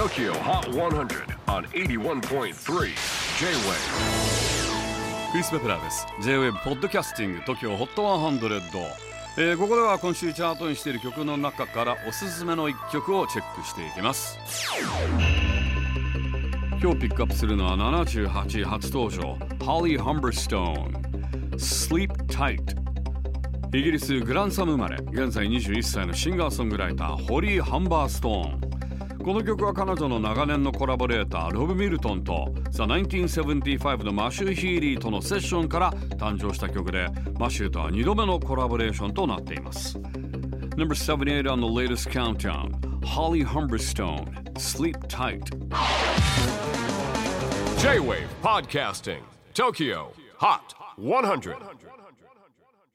TOKYO HOT 100 on 81.3 J-WAVE クリス・ベプラーです。 J-WAVE ポッドキャスティング TOKYO HOT 100、ここでは今週チャートにしている曲の中からおすすめの一曲をチェックしていきます。今日ピックアップするのは78位初登場 Holly Humberstone Sleep Tight。 イギリスグランサム生まれ、現在21歳のシンガーソングライターホリー・ハンバーストーン。この曲は彼女の長年のコラボレーターロブ・ミルトンと The 1975のマシュー・ヒーリーとのセッションから誕生した曲で、マシューとは2度目のコラボレーションとなっています。 Number 78 on the latest countdown Holly Humberstone Sleep Tight。 J-WAVE PODCASTING TOKYO HOT 100